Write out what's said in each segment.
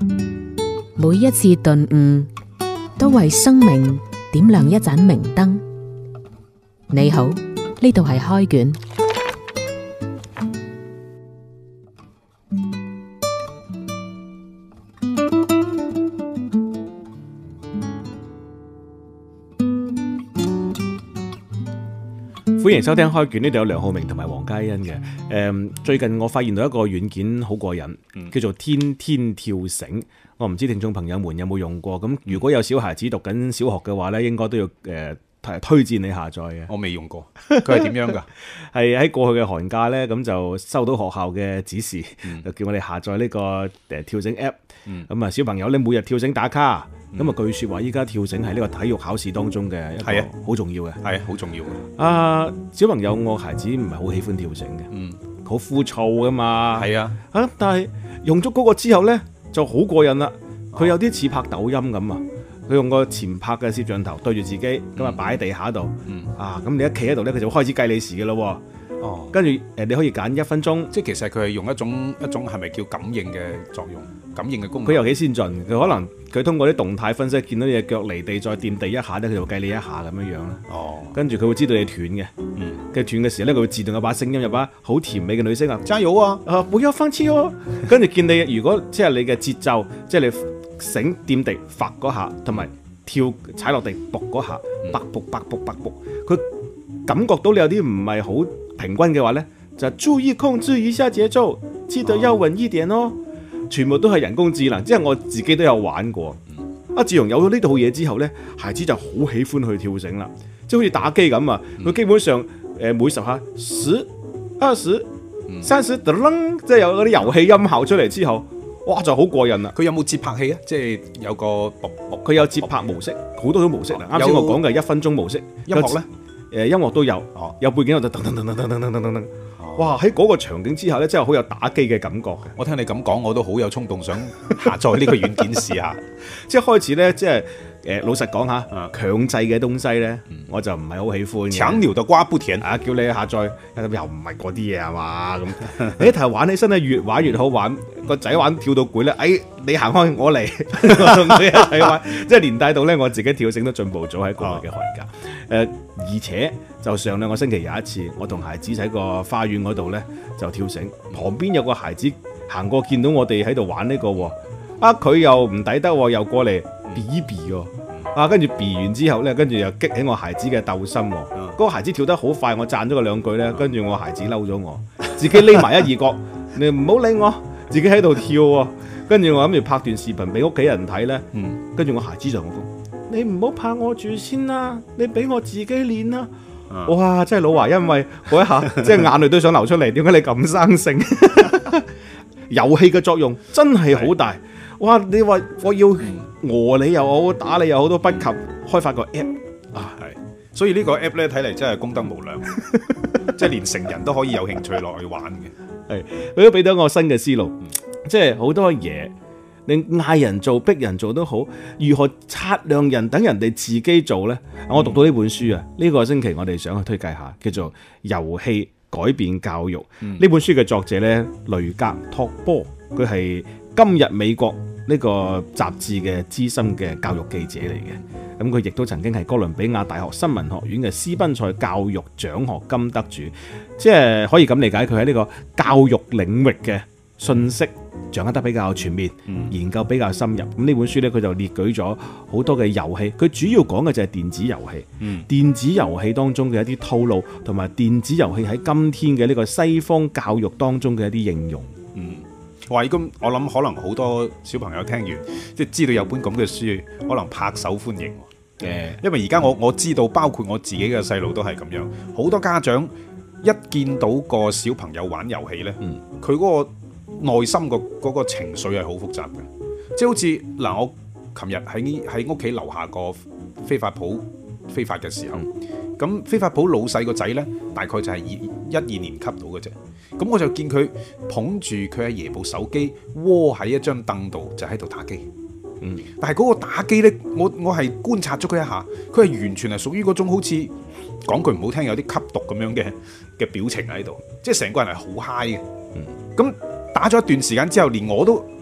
每一次頓悟，都為生命點亮一盞明燈。你好，呢度係開卷。 歡迎收聽開卷，呢度有梁浩明同埋黃嘉欣嘅。最近我發現到一個軟件好過癮，叫做天天跳繩。我唔知聽眾朋友們有冇用過。咁如果有小孩子讀緊小學嘅話咧，應該都要推薦你下載嘅。 我未用過，佢係點樣㗎？ 係喺過去嘅寒假咧，咁就收到學校嘅指示，就叫我哋下載呢個跳繩 app。咁啊，小朋友咧每日跳繩打卡。咁啊，據説話依家跳繩係呢個體育考試當中嘅一個好重要嘅， 係啊，好重要嘅。 小朋友，我孩子唔係好喜歡跳繩嘅，好枯燥噶嘛。係啊，但係用咗嗰個之後咧，就好過癮啦。佢有啲似拍抖音咁啊，佢用個前拍嘅攝像頭對住自己，咁啊擺喺地下度，咁你一企喺度咧，佢就會開始計你時嘅咯。跟住你可以揀1分鐘， 即係其實佢係用一種係咪叫感應嘅作用？感應嘅功能， 佢又幾先進。佢可能佢通過啲動態分析，見到你隻腳離地再掂地一下咧，佢就計你一下咁樣樣啦。跟住佢會知道你斷嘅，跟住斷嘅時候咧，佢會自動有把聲音，有把好甜美嘅女聲啊，加油啊！不要放棄哦。跟住見你如果即係你嘅節奏，即係你繩掂地發嗰下，同埋跳踩落地卜嗰下，卜卜卜卜卜卜，佢感覺到你有啲唔係好平均嘅話咧，就注意控制一下節奏，記得要穩一點哦。全部都係人工智能，即係我自己都有玩過。自從有咗呢套嘢之後呢，孩子就好喜歡去跳繩啦，即係好似打機咁啊！佢基本上每10下10、20、30，即係有嗰啲遊戲音效出嚟之後，哇就好過癮啦！ 佢有冇節拍器啊？即係有個佢有節拍模式，好多種模式啦。啱先我講嘅1分鐘模式， 音樂呢？ 音樂都有，有背景我就噔噔噔噔噔噔噔噔噔。哇！喺嗰個場景之下咧，真係好有打機嘅感覺嘅。 我聽你咁講，我都好有衝動想下載呢個軟件試下。 即係開始咧，即係老實講下，強制嘅東西咧，我就唔係好喜歡嘅。 搶料就瓜不甜叫你下載又唔係嗰啲嘢係嘛咁。你頭玩起身咧，越玩越好玩。個仔玩跳到攰咧，你行開我嚟，我同佢一齊玩，即係連帶到咧我自己跳繩都進步咗喺過去嘅寒假。而且就上2個星期有一次，我同孩子喺個花園嗰度咧就跳繩，旁邊有個孩子行過見到我哋喺度玩呢個喎，佢又唔抵得喎，又過嚟避一避喎，跟住避完之後咧，跟住又激起我孩子嘅鬥心喎。嗰個孩子跳得好快，我讚咗佢2句咧，跟住我孩子嬲咗我，自己匿埋一二角，你唔好理我，自己喺度跳喎。跟住我諗住拍段視頻俾屋企人睇咧，跟住我孩子就同我講：你唔好拍我住先啦，你俾我自己練啦。哇！真係老華因為嗰一下，即係眼淚都想流出嚟。點解你咁生性？遊戲嘅作用真係好大。哇！你話我要餓你又好，打你又好，都不及開發個 app 係，所以呢個 app 咧睇嚟真係功德無量，即係連成人都可以有興趣落去玩嘅。 係，佢都俾到我新嘅思路，即係好多嘢。你嗌人做逼人做都好，如何擦亮人等人哋自己做呢？我讀到呢本書啊，呢個星期我哋想去推介下，叫做《遊戲改變教育》。呢本書嘅作者呢，雷格托波，佢係今日美國呢個雜誌嘅資深嘅教育記者嚟嘅。咁佢亦都曾經係哥倫比亞大學新聞學院嘅斯賓塞教育獎學金得主，即係可以咁理解，佢喺呢個教育領域嘅信息掌握得比較全面，研究比較深入。咁呢本書呢，佢就列舉咗好多嘅遊戲，佢主要講嘅就係電子遊戲。電子遊戲當中嘅一啲套路，同埋電子遊戲喺今天嘅呢個西方教育當中嘅一啲應用。 哇！咁我諗可能好多小朋友聽完，即係知道有本咁嘅書，可能拍手歡迎。因為而家我知道，包括我自己嘅細路都係咁樣。好多家長一見到個小朋友玩遊戲呢，佢嗰個內心嗰個情緒係好複雜嘅，即係好似嗱，我琴日喺屋企樓下個飛髮鋪飛髮嘅時候，咁飛髮鋪老細個仔呢，大概就係1、2年級到嘅啫，咁我就見佢捧住佢阿爺部手機，窩喺一張凳度就喺度打機。但係嗰個打機呢，我係觀察咗佢一下，佢係完全係屬於嗰種好似講句唔好聽，有啲吸毒咁樣嘅表情喺度，即係成個人係好 high 嘅。咁打咗一段時間之後，連我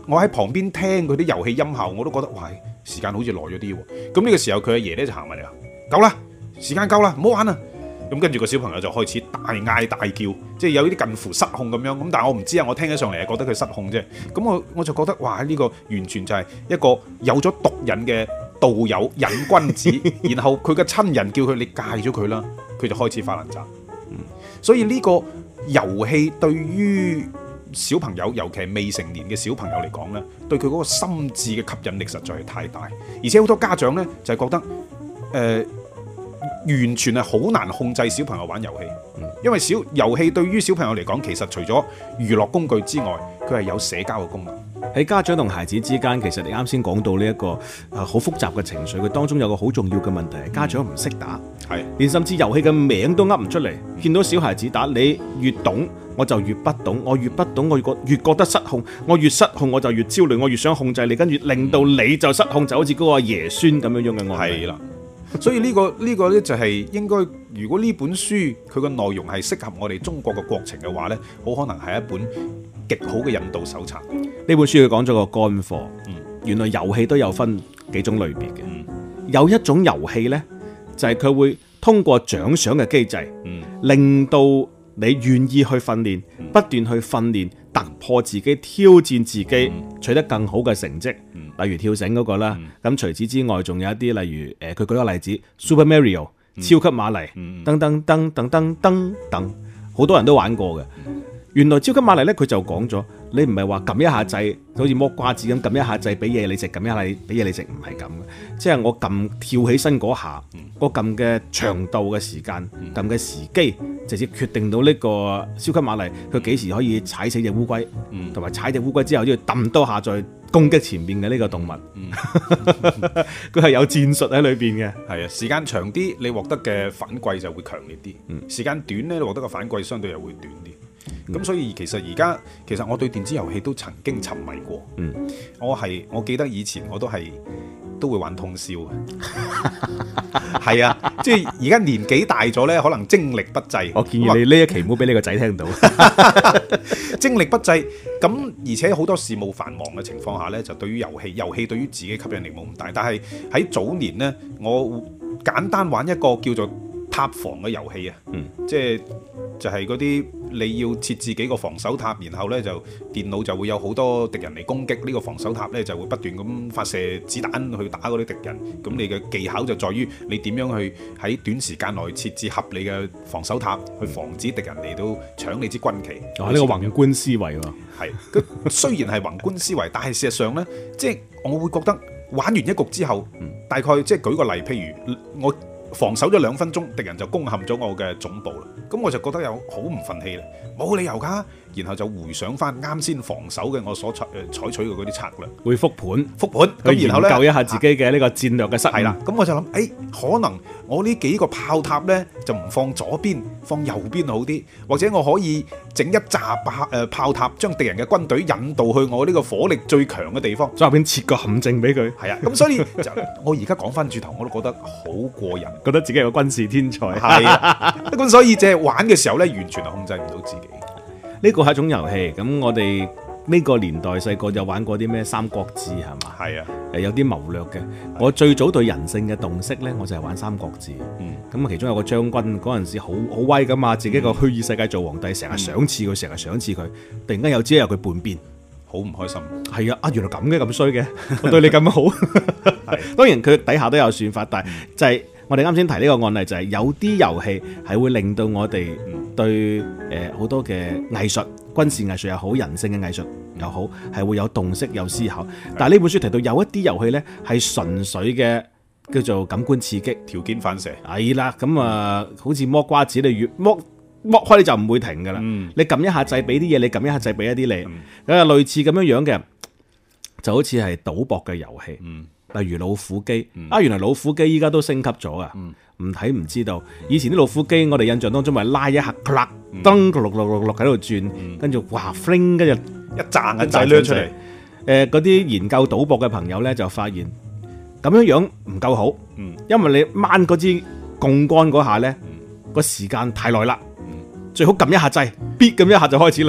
我喺旁邊聽佢啲遊戲音效，我都覺得哇，時間好似耐咗啲喎。咁呢個時候佢阿爺咧就行埋嚟啦，夠啦，時間夠啦，唔好玩啦。咁跟住個小朋友就開始大嗌大叫，即係有啲近乎失控咁樣。咁但係我唔知啊，我聽起上嚟係覺得佢失控啫。咁我就覺得哇，呢個完全就係一個有咗毒癮嘅道友癮君子。然後佢嘅親人叫佢你戒咗佢啦，佢就開始發爛渣。所以呢個遊戲對於小朋友，尤其係未成年嘅小朋友嚟講呢，對佢嗰個心智嘅吸引力實在係太大。而且好多家長呢，就係覺得完全係好難控制小朋友玩遊戲，因為遊戲對於小朋友嚟講，其實除咗娛樂工具之外，佢係有社交嘅功能。 喺家長同孩子之間，其實你啱先講到呢一個好複雜嘅情緒，佢當中有個好重要嘅問題係家長唔識打，連甚至遊戲嘅名都噏唔出嚟。見到小孩子打，你越懂我就越不懂，我越不懂我越覺得失控，我越失控我就越焦慮，我越想控制你，跟住令到你就失控，就好似嗰個爺孫咁樣嘅案例。 係啦。所以呢個呢就係應該，如果呢本書佢個內容係適合我哋中國嘅國情嘅話呢，好可能係一本極好嘅引導手冊。 呢本書佢講咗個乾貨，原來遊戲都有分幾種類別嘅。有一種遊戲呢，就係佢會通過獎賞嘅機制，令到你願意去訓練，不斷去訓練，突破自己，挑戰自己，取得更好嘅成績。例如跳繩嗰個啦，咁除此之外，仲有一啲例如佢舉個例子 Super Mario、超級瑪麗噔噔噔噔噔噔噔，好多人都玩過嘅。原來超級瑪麗咧，佢就講咗，你唔係話撳一下掣，好似剝瓜子咁撳一下掣俾嘢你食，撳一下俾嘢你食，唔係咁嘅。即係我撳跳起身嗰下，我撳嘅長度嘅時間，撳嘅時機，直接決定到呢個超級瑪麗佢幾時可以踩死隻烏龜，同埋踩隻烏龜之後都要揼多下再攻擊前面嘅呢個動物。佢係有戰術喺裏邊嘅。 係啊，時間長啲，你獲得嘅反饋就會強烈啲；時間短咧，你獲得嘅反饋相對又會短啲。咁所以其實我對電子遊戲都曾經沉迷過。我記得以前我都會玩通宵嘅。係啊，即係而家年紀大咗呢，可能精力不濟。 我建議你呢一期唔好俾你個仔聽到。 精力不濟，咁而且好多事務繁忙嘅情況下呢，就對於遊戲對於自己吸引力冇咁大。但係喺早年呢，我簡單玩一個叫做塔防嘅遊戲啊，就係嗰啲你要設置幾個防守塔，然後呢就電腦就會有好多敵人嚟攻擊，呢個防守塔呢就會不斷咁發射子彈去打嗰啲敵人。咁你嘅技巧就在於你點樣去喺短時間內設置合理嘅防守塔，去防止敵人嚟到搶你支軍旗。 呢個宏觀思維喎， 係。雖然係宏觀思維，但係事實上呢，即係我會覺得玩完一局之後，大概即係舉個例，譬如我防守咗2分鐘，敵人就攻陷咗我嘅總部啦。咁我就覺得有好唔忿氣啦，冇理由㗎。然後就回想翻啱先防守嘅我所採取嘅嗰啲策略， 會復盤， 咁然後咧研究一下自己嘅呢個戰略嘅失誤。 係啦，咁我就諗，可能我呢幾個炮塔呢，就唔放左邊，放右邊好啲，或者我可以整一紮炮塔，將敵人嘅軍隊引導去我呢個火力最強嘅地方， 再入邊設個陷阱俾佢。 係啊，咁所以我而家講翻轉頭，我都覺得好過癮， 覺得自己係個軍事天才。 係啊，咁所以即係玩嘅時候呢，完全係控制唔到自己。 呢個係一種遊戲，咁我哋呢個年代細個就玩過啲咩《三國志》係嘛？ 係啊， 有啲謀略嘅。我最早對人性嘅洞悉呢，我就係玩《三國志》。咁其中有個將軍嗰陣時好威噶嘛，自己個虛擬世界做皇帝，成日賞賜佢，突然間有朝一日佢叛變， 好唔開心。 係啊，原來咁嘅咁衰嘅，我對你咁好。當然佢底下都有算法，但係就係我哋啱先提呢個案例，就係有啲遊戲係會令到我哋對好多嘅藝術、軍事藝術又好，人性嘅藝術又好，係會有洞悉、有思考。但係呢本書提到有一啲遊戲呢係純粹嘅叫做感官刺激、 條件反射。 係啦，咁好似剝瓜子，你越剝開你就唔會停噶啦。你撳一下掣俾啲嘢，你撳一下掣俾一啲你。類似咁樣嘅，就好似係賭博嘅遊戲。例如老虎機，原來老虎機依家都升級咗啊！唔睇唔知道，以前啲老虎機我哋印象當中咪拉一下，噔碌喺度轉，跟住哇 fling， 跟住一揸銀仔掠出嚟。 嗰啲研究賭博嘅朋友咧就發現咁樣唔夠好，因為你掹嗰支槓桿嗰下咧個時間太耐啦，最好撳一下掣，咇咁一下就開始嚟。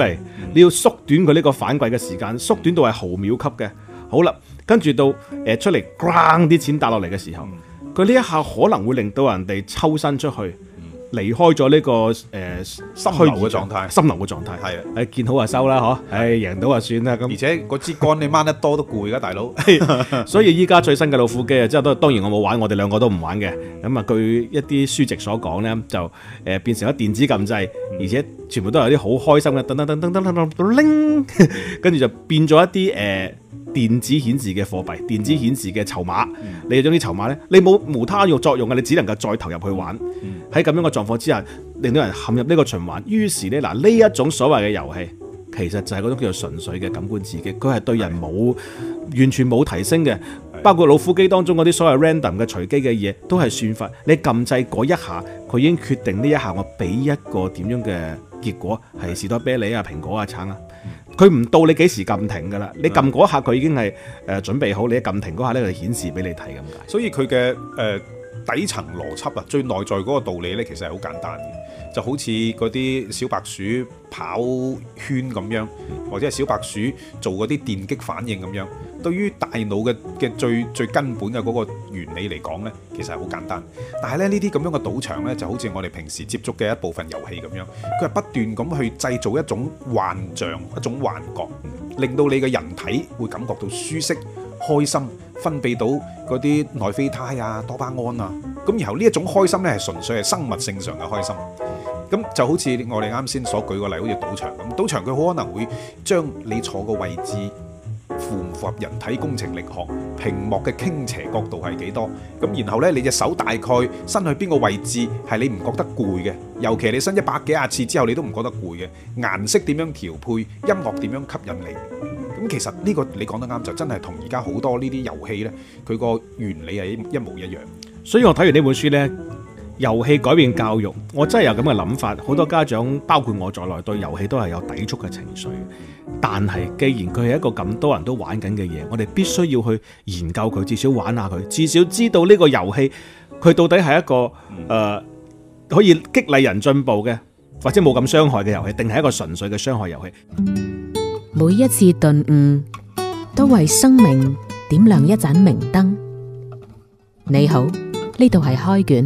你要縮短佢呢個反饋嘅時間，縮短到係毫秒級嘅。好啦，跟住到出嚟 ground 啲錢打落嚟嘅時候，佢呢一下可能會令到人哋抽身出去。離開咗呢個心流嘅狀態， 心流嘅狀態係啊，見好就收啦，嗬，贏到就算啦。咁而且嗰支杆你掹得多都攰噶，大佬。 所以依家最新嘅老虎機啊，即係當然我冇玩，我哋兩個都唔玩嘅。咁啊，據一啲書籍所講咧，就變成咗電子撳掣，而且全部都係啲好開心嘅，噔噔噔噔噔噔噔拎，跟住就變咗一啲電子顯示嘅貨幣，電子顯示嘅籌碼，你將啲籌碼咧，你冇無他用作用嘅，你只能夠再投入去玩。喺咁樣嘅狀況之下，令到人陷入呢個循環。於是咧，嗱呢一種所謂嘅遊戲，其實就係嗰種叫做純粹嘅感官刺激，佢係對人完全冇提升嘅。包括老虎機當中嗰啲所謂 random 嘅隨機嘅嘢，都係算法。你撳掣嗰一下，佢已經決定呢一下我俾一個點樣嘅結果，係士多啤梨啊、蘋果啊、橙啊。佢唔到你幾時撳停噶啦，你撳嗰下佢已經係準備好，你一撳停嗰下咧就顯示俾你睇咁解。 所以佢嘅底層邏輯啊，最內在嗰個道理咧，其實係好簡單嘅，就好似嗰啲小白鼠跑圈咁樣，或者係小白鼠做嗰啲電擊反應咁樣。對於大腦嘅最根本嘅嗰個原理嚟講咧，其實係好簡單。但係咧呢啲咁樣嘅賭場咧，就好似我哋平時接觸嘅一部分遊戲咁樣，佢係不斷咁去製造一種幻象、一種幻覺，令到你嘅人體會感覺到舒適、開心，分泌到嗰啲內啡肽啊、多巴胺啊。咁然後呢一種開心咧係純粹係生物性上嘅開心。咁就好似我哋啱先所舉個例，好似賭場咁，賭場佢好可能會將你坐個位置符唔符合人體工程力學，屏幕嘅傾斜角度係幾多，咁然後呢，你隻手大概伸去邊個位置係你唔覺得攰嘅，尤其你伸100幾廿次之後你都唔覺得攰嘅，顏色點樣調配，音樂點樣吸引你，咁其實呢個你講得啱，就真係同而家好多呢啲遊戲呢，佢個原理係一模一樣。所以我睇完呢本書呢，遊戲改變教育，我真係有咁嘅諗法。好多家長包括我在內對遊戲都係有抵觸嘅情緒，但係既然佢係一個咁多人都玩緊嘅嘢，我哋必須要去研究佢，至少玩下佢，至少知道呢個遊戲佢到底係一個可以激勵人進步嘅，或者冇咁傷害嘅遊戲，定係一個純粹嘅傷害遊戲。 每一次頓悟都為生命點亮一盞明燈。你好，呢度係開卷。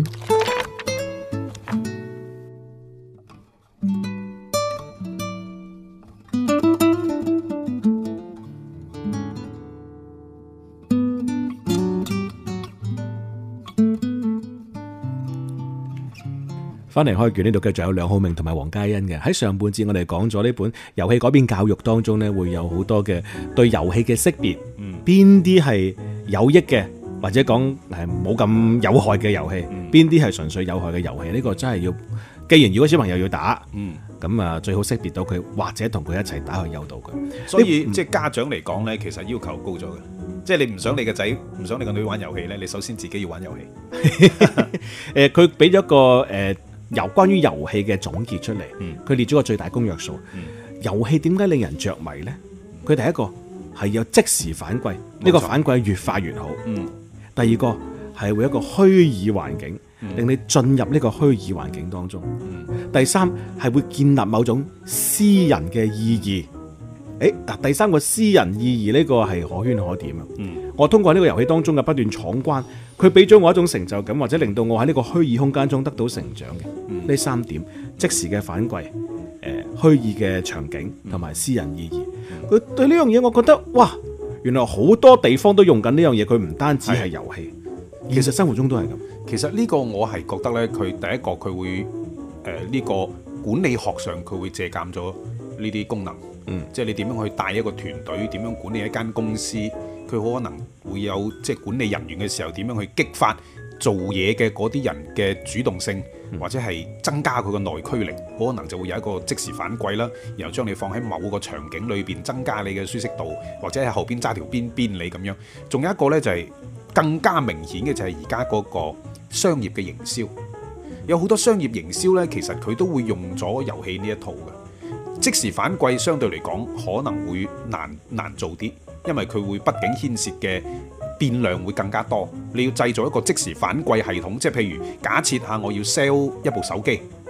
翻嚟開卷呢度繼續有梁浩明同埋黃嘉欣嘅。喺上半節我哋講咗呢本遊戲改變教育當中呢，會有好多嘅對遊戲嘅識別，邊啲係有益嘅，或者講係冇咁有害嘅遊戲，邊啲係純粹有害嘅遊戲。呢個真係要，既然如果小朋友要打，咁啊最好識別到佢，或者同佢一齊打去誘導佢。 所以即係家長嚟講呢，其實要求高咗嘅。即係你唔想你個仔，唔想你個女玩遊戲呢，你首先自己要玩遊戲。 佢俾咗個由關於遊戲嘅總結出嚟，佢列咗個最大公約數。遊戲點解令人着迷呢？佢第一個係有即時反饋，呢個反饋越快越好。第二個係會有一個虛擬環境，令你進入呢個虛擬環境當中。第三係會建立某種私人嘅意義。第三個私人意義呢個係可圈可點啊！我通過呢個遊戲當中嘅不斷闖關，佢俾咗我一種成就感，或者令到我喺呢個虛擬空間中得到成長嘅。呢三點：即時嘅反饋、虛擬嘅場景同埋私人意義。佢對呢樣嘢，我覺得哇，原來好多地方都用緊呢樣嘢。佢唔單止係遊戲，其實生活中都係咁。 其實呢個我係覺得呢，佢第一個佢會呢個管理學上佢會借鑑咗呢啲功能。即係你點樣去帶一個團隊，點樣管理一間公司，佢可能會有即係管理人員嘅時候點樣去激發做嘢嘅嗰啲人嘅主動性，或者係增加佢個內驅力，可能就會有一個即時反饋啦，然後將你放喺某個場景裏邊增加你嘅舒適度，或者喺後邊揸條邊你咁樣。仲有一個呢，就係更加明顯嘅就係而家嗰個商業嘅營銷，有好多商業營銷呢，其實佢都會用咗遊戲呢一套嘅。即時反饋相對嚟講可能會難做啲，因為佢會畢竟牽涉嘅變量會更加多。你要製造一個即時反饋系統，即係譬如假設下我要 sell 一部手機，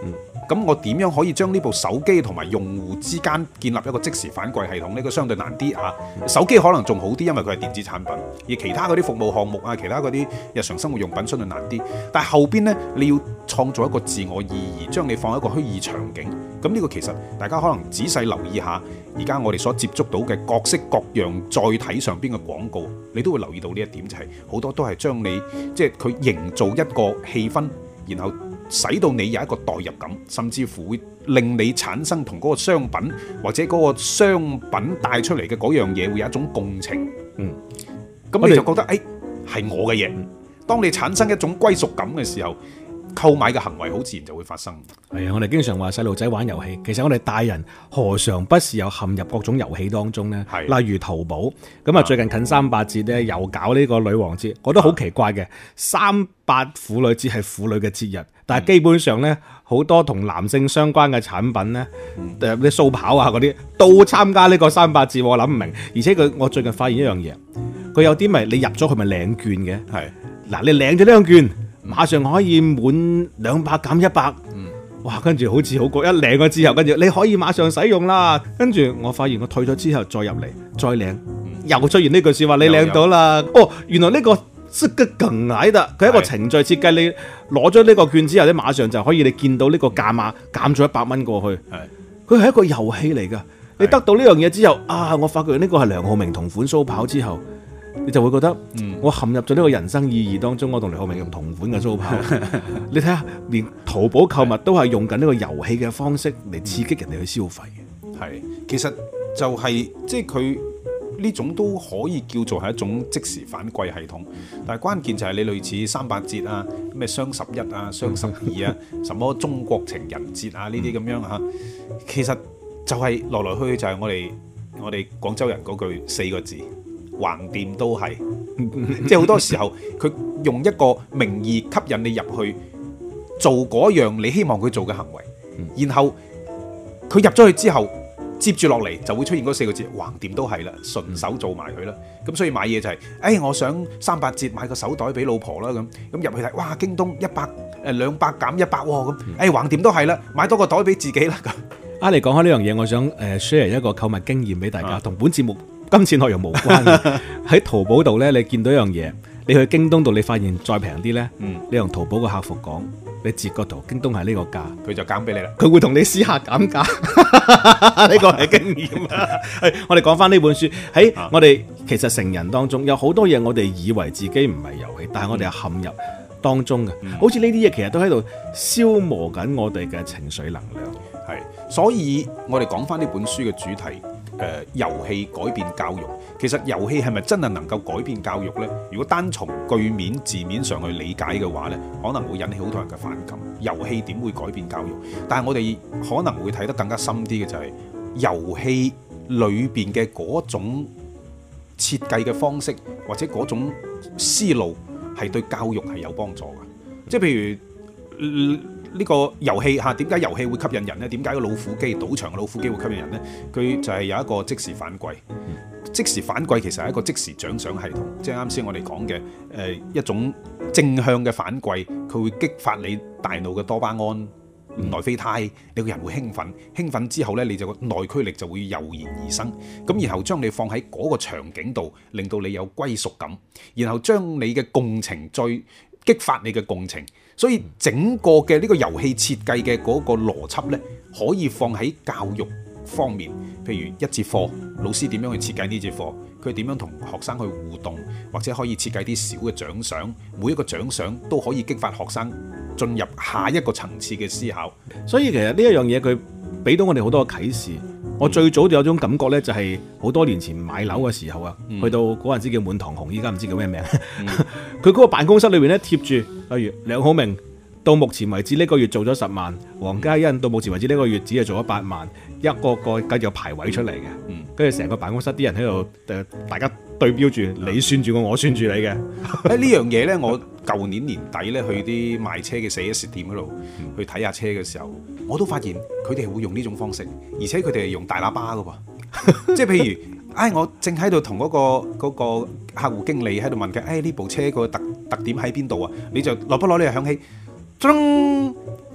咁我點樣可以將呢部手機同埋用戶之間建立一個即時反饋系統呢？個相對難啲嚇。手機可能仲好啲，因為佢係電子產品，而其他嗰啲服務項目啊，其他嗰啲日常生活用品相對難啲。但係後邊呢，你要創造一個自我意義，將你放喺一個虛擬場景。咁呢個其實大家可能仔細留意下，而家我哋所接觸到嘅各式各樣載體上邊嘅廣告，你都會留意到呢一點，就係好多都係將你即係佢營造一個氣氛，然後使到你有一個代入感，甚至乎會令你產生同嗰個商品或者嗰個商品帶出嚟嘅嗰樣嘢會有一種共情。咁你就覺得誒係我嘅嘢。當你產生一種歸屬感嘅時候，購買嘅行為好自然就會發生。 係啊，我哋經常話細路仔玩遊戲，其實我哋大人何嘗不是有陷入各種遊戲當中呢？例如淘寶咁啊，最近近3/8節咧又搞呢個女王節，我覺得好奇怪嘅。3/8婦女節係婦女嘅節日，但係基本上呢，好多同男性相關嘅產品呢，啲掃跑啊嗰啲都參加呢個3/8節，我諗唔明。而且我最近發現一樣嘢，佢有啲咪你入咗去咪領券嘅？係嗱，你領咗呢張券，馬上可以滿200減100，哇！跟住好似好過一領咗之後，跟住你可以馬上使用啦。跟住我發現我退咗之後再入嚟再領，又出現呢句說話，你領到啦。哦，原來呢個係個更矮的，佢係一個程序設計。你攞咗呢個券之後咧，馬上就可以你見到呢個價碼減咗100蚊過去。佢係一個遊戲嚟㗎。你得到呢樣嘢之後啊，我發覺呢個係梁浩明同款蘇跑之後。你就會覺得，我陷入咗呢個人生意義當中，我同梁浩明用同款嘅蘇跑。你睇下，連淘寶購物都係用緊呢個遊戲嘅方式嚟刺激人哋去消費嘅。 係，其實就係即係佢呢種都可以叫做係一種即時反饋系統。但係關鍵就係你類似3/8節啊、咩雙11啊、雙12啊、什麼中國情人節啊呢啲咁樣嚇，其實就係來來去去就係我哋廣州人嗰句4個字。橫掂都係，即係好多時候佢用一個名義吸引你入去做嗰樣你希望佢做嘅行為，然後佢入咗去之後，接住落嚟就會出現嗰4個字，橫掂都係啦，順手做埋佢啦。咁所以買嘢就係，我想3/8節買個手袋俾老婆啦，咁入去睇，哇，京東200減100喎，咁，橫掂都係啦，買多個袋俾自己啦咁。 你講開呢樣嘢，我想share 一個購物經驗俾大家，同本節目今次內容無關嘅。喺淘寶度咧，你見到一樣嘢，你去京東度，你發現再平啲咧，你同淘寶個客服講，你截個圖，京東係呢個價，佢就減俾你啦。佢會同你私下減價，呢個係經驗。我哋講翻呢本書，喺我哋其實成人當中有好多嘢，我哋以為自己唔係遊戲，但係我哋係陷入當中嘅。好似呢啲嘢，其實都喺度消磨緊我哋嘅情緒能量。 係，所以我哋講翻呢本書嘅主題。遊戲改變教育，其實遊戲係咪真係能夠改變教育呢？如果單從句面字面上去理解嘅話呢，可能會引起好多人嘅反感。遊戲點會改變教育？但係我哋可能會睇得更加深啲嘅就係遊戲裏邊嘅嗰種設計嘅方式，或者嗰種思路係對教育係有幫助嘅。即係譬如呢個遊戲嚇，點解遊戲會吸引人呢？點解個老虎機賭場嘅老虎機會吸引人呢？佢就係有一個即時反饋。即時反饋其實係一個即時獎賞系統，即係啱先我哋講嘅一種正向嘅反饋，佢會激發你大腦嘅多巴胺、內啡肽，你個人會興奮。興奮之後呢，你就個內驅力就會油然而生。咁然後將你放喺嗰個場景度，令到你有歸屬感，然後將你嘅共情再激發你嘅共情。所以整個嘅呢個遊戲設計嘅嗰個邏輯呢，可以放喺教育方面，譬如一節課，老師點樣去設計呢節課，佢點樣同學生去互動，或者可以設計啲小嘅獎賞，每一個獎賞都可以激發學生進入下一個層次嘅思考。 所以其實呢一樣嘢佢俾到我哋好多嘅啟示。我最早就有種感覺呢，就係好多年前買樓嘅時候啊，去到嗰陣時叫滿堂紅，依家唔知叫咩名。佢嗰個辦公室裏面咧貼住，例如梁浩明到目前為止呢個月做咗10萬，黃嘉欣到目前為止呢個月只係做咗8萬，一個個繼續排位出嚟嘅。跟住成個辦公室啲人喺度大家對標住，你算住我算住你嘅。 呢樣嘢呢，我舊年年底呢去啲賣車嘅 4S 店嗰度去睇下車嘅時候，我都發現佢哋會用呢種方式，而且佢哋係用大喇叭噶喎。即係譬如，我正喺度同嗰個客戶經理喺度問佢，呢部車個特點喺邊度啊？你就攞不攞呢個響起，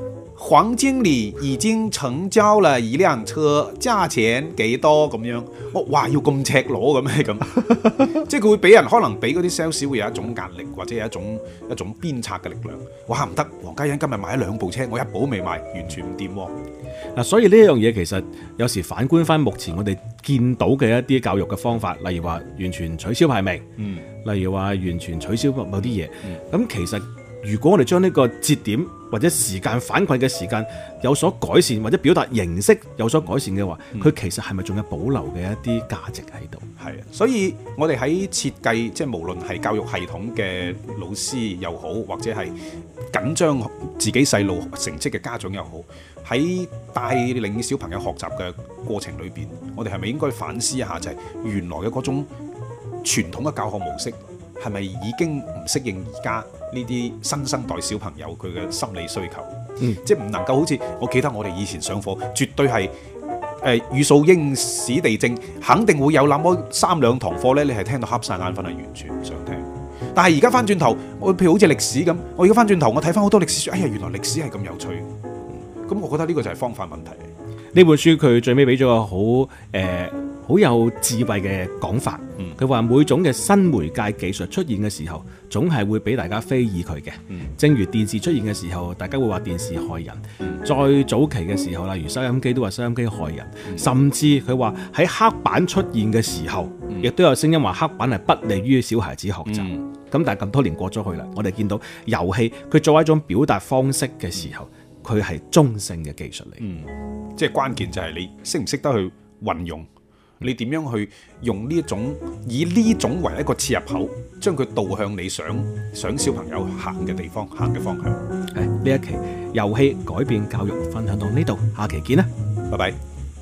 黃經理已經成交了一輛車，價錢幾多咁樣？哇，要咁赤裸嘅咩咁？即係佢會俾人可能俾嗰啲 sales 會有一種壓力，或者有一種鞭策嘅力量。哇，唔得，黃家欣今日買咗2部車，我一部都未買，完全唔掂喎。 嗱，所以呢一樣嘢其實有時反觀翻目前我哋見到嘅一啲教育嘅方法，例如話完全取消排名，例如話完全取消某啲嘢，咁其實如果我哋將呢個節點或者時間反饋嘅時間有所改善，或者表達形式有所改善嘅話，佢其實係咪仲有保留嘅一啲價值喺度？ 係啊，所以我哋喺設計，即係無論係教育系統嘅老師又好，或者係緊張自己細路成績嘅家長又好，喺帶領小朋友學習嘅過程裏邊，我哋係咪應該反思一下，就係原來嘅嗰種傳統嘅教學模式係咪已經唔適應而家呢啲新生代小朋友佢嘅心理需求？即係唔能夠好似我記得我哋以前上課，絕對係語數英史地政，肯定會有那麼3-2堂課呢，你係聽到瞌晒眼瞓，係完全唔想聽。但係而家翻轉頭，我譬如好似歷史咁，我而家翻轉頭，我睇翻好多歷史書，哎呀，原來歷史係咁有趣。咁我覺得呢個就係方法問題。 呢本書佢最尾俾咗個好有智慧嘅講法。佢話每種嘅新媒介技術出現嘅時候，總係會俾大家非議佢嘅。正如電視出現嘅時候，大家會話電視害人。再早期嘅時候，例如收音機都話收音機害人。甚至佢話喺黑板出現嘅時候，亦都有聲音話黑板係不利於小孩子學習。咁但係咁多年過咗去啦，我哋見到遊戲佢作為一種表達方式嘅時候，佢係中性嘅技術嚟。 即係關鍵就係你識唔識得去運用，你點樣去用以呢種為一個切入口，將佢導向你想小朋友行嘅地方，行嘅方向。 呢一期遊戲改變教育分享到呢度，下期見啦， 拜拜。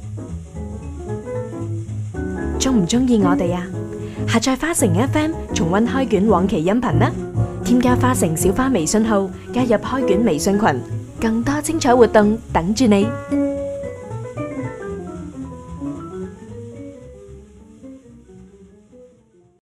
中唔中意我哋啊？下載花城 FM 重溫開卷往期音頻啦！添加花城小花微信號，加入開卷微信群，更多精彩活動等住你。